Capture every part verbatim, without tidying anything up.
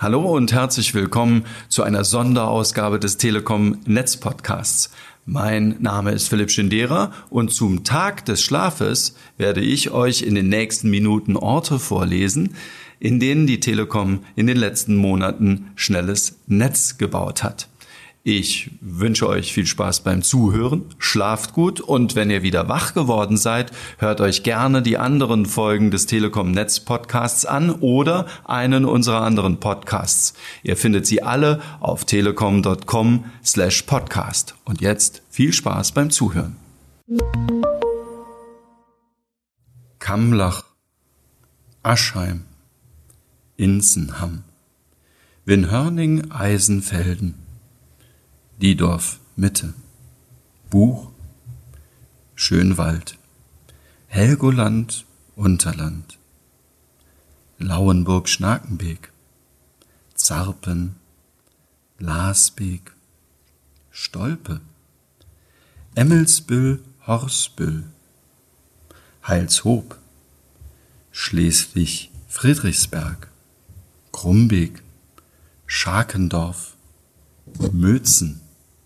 Hallo und herzlich willkommen zu einer Sonderausgabe des Telekom Netz Podcasts. Mein Name ist Philipp Schindera und zum Tag des Schlafes werde ich euch in den nächsten Minuten Orte vorlesen, in denen die Telekom in den letzten Monaten schnelles Netz gebaut hat. Ich wünsche euch viel Spaß beim Zuhören, schlaft gut und wenn ihr wieder wach geworden seid, hört euch gerne die anderen Folgen des Telekom Netz Podcasts an oder einen unserer anderen Podcasts. Ihr findet sie alle auf telekom punkt com slash podcast. Und jetzt viel Spaß beim Zuhören. Kamlach, Aschheim, Inzenham, Winhörning, Eisenfelden, Diedorf Mitte, Buch, Schönwald, Helgoland, Unterland, Lauenburg, Schnakenbeek, Zarpen, Lasbeek, Stolpe, Emmelsbüll, Horsbüll, Heilshoop, Schleswig-Friedrichsberg, Krumbeek, Scharkendorf, Mötzen,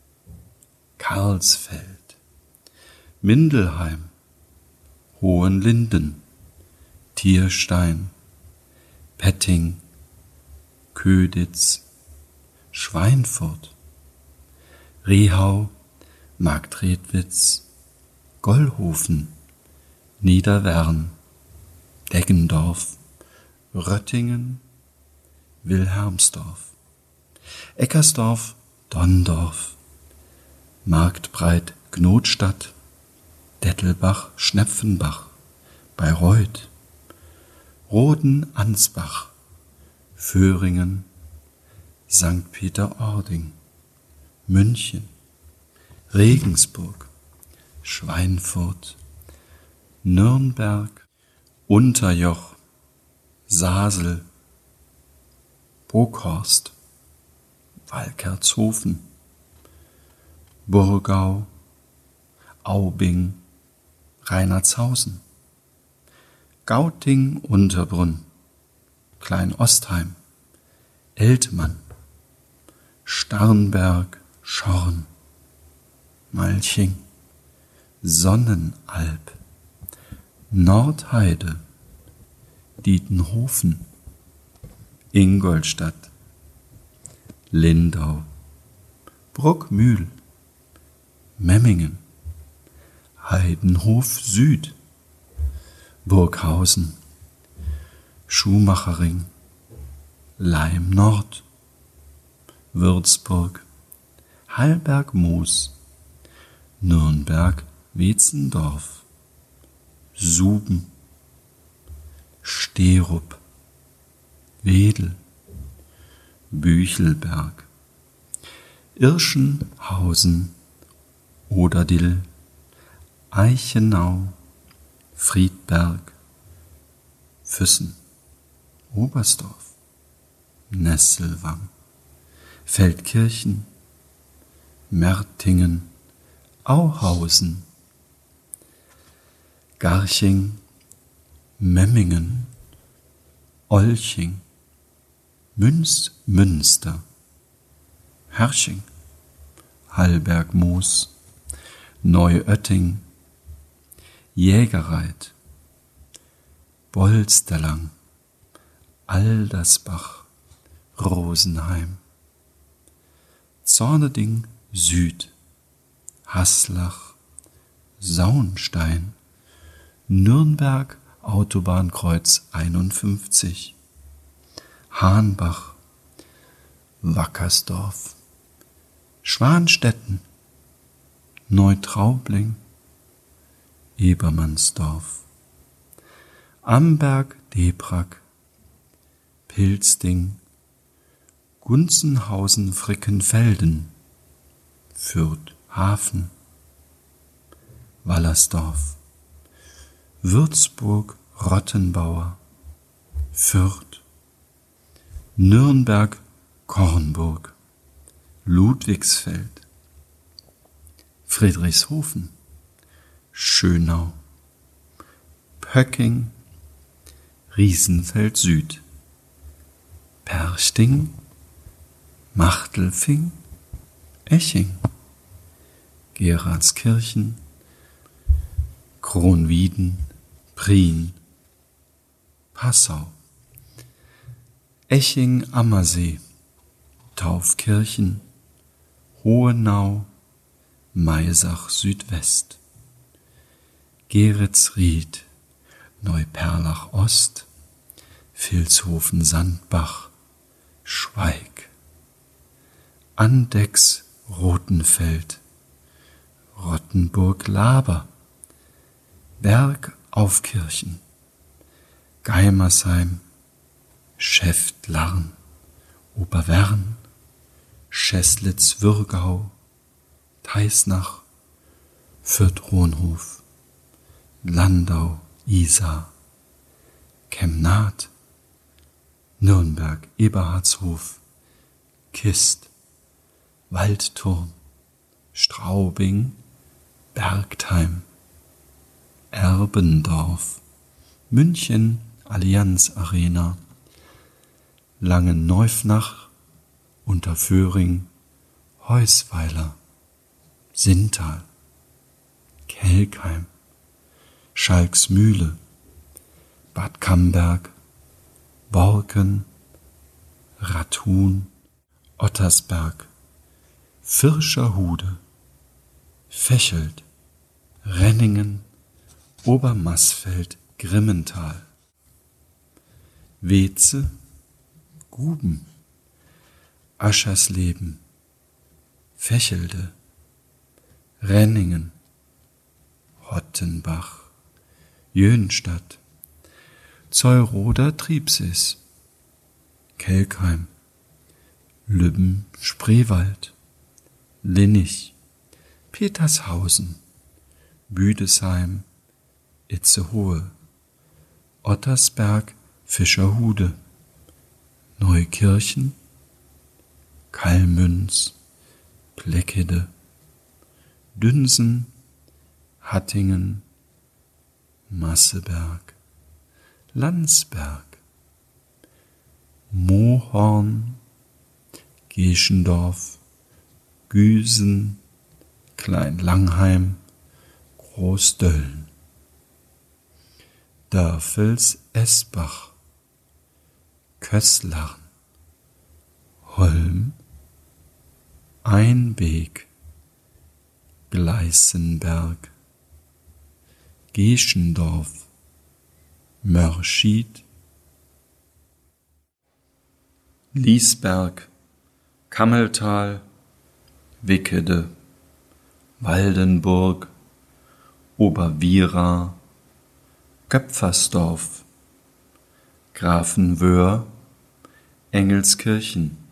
Karlsfeld, Mindelheim, Hohenlinden, Tierstein, Petting, Köditz, Schweinfurt, Rehau, Marktredwitz, Gollhofen, Niederwern, Deggendorf, Röttingen, Wilhelmsdorf, Eckersdorf, Donndorf, Marktbreit, Gnotstadt, Dettelbach, Schnepfenbach, Bayreuth, Roden, Ansbach, Föhringen, Sankt Peter-Ording, München, Regensburg, Schweinfurt, Nürnberg, Unterjoch, Sasel, Burghorst, Walkertshofen, Burgau, Aubing, Reinhardshausen, Gauting, Unterbrunn, Kleinostheim, Eltmann, Starnberg, Schorn, Malching, Sonnenalb, Nordheide, Dietenhofen, Ingolstadt, Lindau, Bruckmühl, Memmingen, Heidenhof Süd, Burghausen, Schumachering, Leim Nord, Würzburg, Hallberg-Moos, Nürnberg, Wetzendorf, Suben, Sterup, Wedel, Büchelberg, Irschenhausen, Oderdill, Eichenau, Friedberg, Füssen, Oberstdorf, Nesselwang, Feldkirchen, Mertingen, Auhausen, Garching, Memmingen, Olching, Münz, Münster, Herrsching, Hallberg-Moos, Neuötting, Jägerreit, Bolsterlang, Aldersbach, Rosenheim, Zorneding Süd, Haslach, Saunstein, Nürnberg, Autobahnkreuz einundfünfzig, Hahnbach, Wackersdorf, Schwanstetten, Neutraubling, Ebermannsdorf, Amberg, Debrack, Pilzding, Gunzenhausen, Frickenfelden, Fürth, Hafen, Wallersdorf, Würzburg, Rottenbauer, Fürth, Nürnberg, Kornburg, Ludwigsfeld, Friedrichshofen, Schönau, Pöcking, Riesenfeld Süd, Perchting, Machtelfing, Eching, Geratskirchen, Kronwieden, Prien, Passau, Eching-Ammersee, Taufkirchen, Hohenau, Maisach Südwest, Geretsried, Neuperlach Ost, Vilshofen-Sandbach, Schweig, Andechs Rothenfeld, Rottenburg-Laber, Bergaufkirchen, Geimersheim, Schäftlarn, Oberwern, Scheßlitz-Würgau, Teisnach, Fürth-Ronhof, Landau, Isar, Kemnath, Nürnberg, Eberhardshof, Kist, Waldturm, Straubing, Bergtheim, Erbendorf, München, Allianz Arena, Langenneufnach, Unterföhring, Heusweiler, Sinntal, Kelkheim, Schalksmühle, Bad Camberg, Borken, Rathun, Ottersberg, Virscherhude, Fächelt, Renningen, Obermassfeld, Grimmental, Weze, Guben, Aschersleben, Fächelde, Renningen, Hottenbach, Jönstadt, Zeuroder Triebsees, Kelkheim, Lübben, Spreewald, Linnich, Petershausen, Büdesheim, Itzehoe, Ottersberg, Fischerhude, Neukirchen, Kallmünz, Pleckede, Dünsen, Hattingen, Masseberg, Landsberg, Mohorn, Geschendorf, Güsen, Kleinlangheim, Großdölln, Dörfels-Esbach, Kößlarn, Holm, Einbeek, Gleißenberg, Geschendorf, Mörschied, Liesberg, Kammeltal, Wickede, Waldenburg, Oberwiera, Köpfersdorf, Grafenwöhr, Engelskirchen,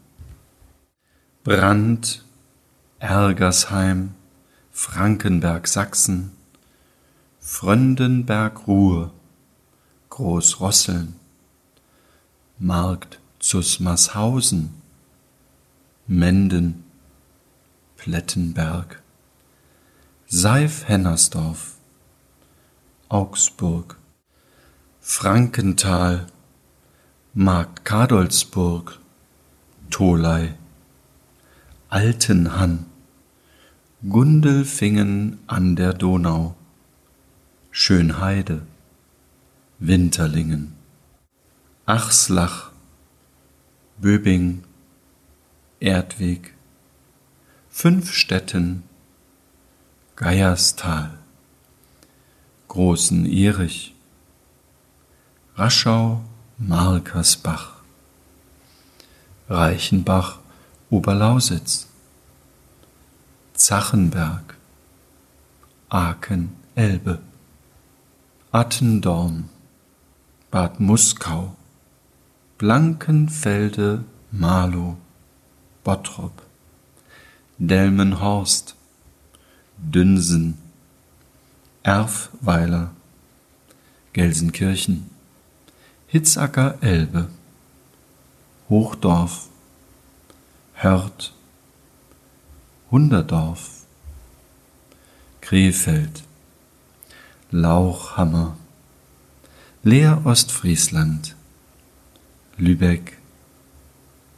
Brand, Ergersheim, Frankenberg Sachsen, Fröndenberg-Ruhr, Großrosseln, Markt Zusmarshausen, Menden, Plettenberg, Seif-Hennersdorf, Augsburg, Frankenthal, Markt Kadolsburg, Tholey, Altenhann, Gundelfingen an der Donau, Schönheide, Winterlingen, Achslach, Böbing, Erdweg, Fünfstetten, Geierstal, Großen Erich, Raschau, Markersbach, Reichenbach, Oberlausitz, Zachenberg, Aken, Elbe, Attendorn, Bad Muskau, Blankenfelde, Marlow, Bottrop, Delmenhorst, Dünsen, Erfweiler, Gelsenkirchen, Hitzacker Elbe, Hochdorf, Hörth, Hunderdorf, Krefeld, Lauchhammer, Leer Ostfriesland, Lübeck,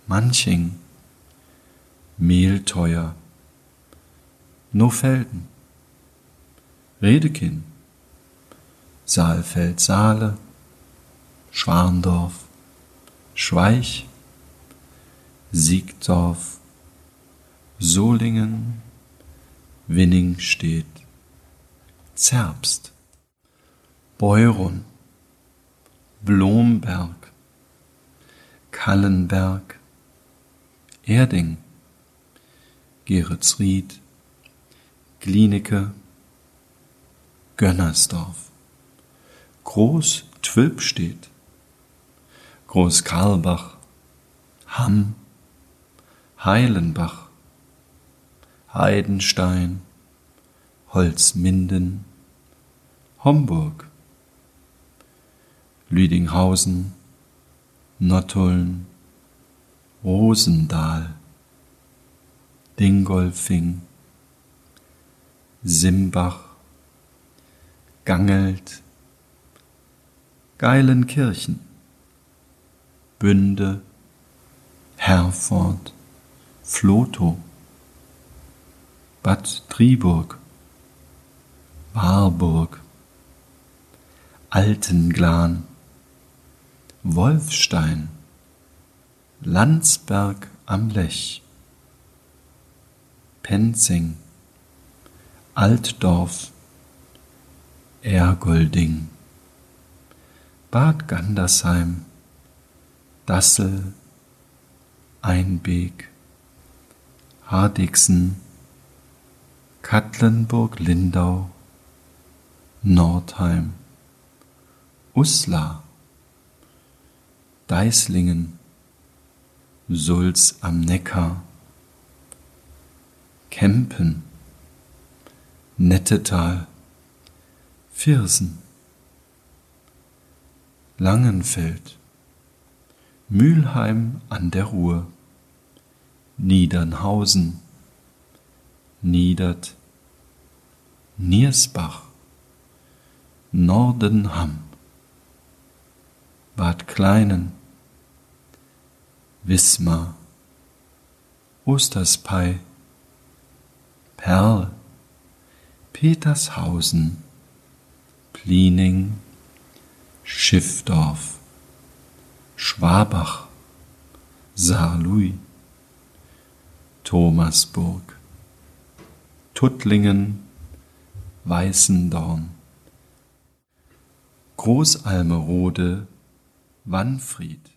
Manching, Mehlteuer, Nofelden, Redekin, Saalfeld-Saale, Schwarndorf, Schweich, Siegdorf, Solingen, Winningstedt, Zerbst, Beurun, Blomberg, Kallenberg, Erding, Geretsried, Glienicke, Gönnersdorf, Groß-Twülpstedt, Groß-Karlbach, Hamm, Heilenbach, Heidenstein, Holzminden, Homburg, Lüdinghausen, Nottuln, Rosendahl, Dingolfing, Simbach, Gangelt, Geilenkirchen, Bünde, Herford, Vlotho, Bad Driburg, Warburg, Altenglan, Wolfstein, Landsberg am Lech, Penzing, Altdorf, Ergolding, Bad Gandersheim, Dassel, Einbeek, Hardegsen, Katlenburg-Lindau, Nordheim, Uslar, Deislingen, Sulz am Neckar, Kempen, Nettetal, Viersen, Langenfeld, Mülheim an der Ruhr, Niedernhausen, Niedert, Niersbach, Nordenham, Bad Kleinen, Wismar, Osterspey, Perl, Petershausen, Pliening, Schiffdorf, Schwabach, Saarlouis, Thomasburg, Tuttlingen, Weißendorn, Großalmerode, Wanfried.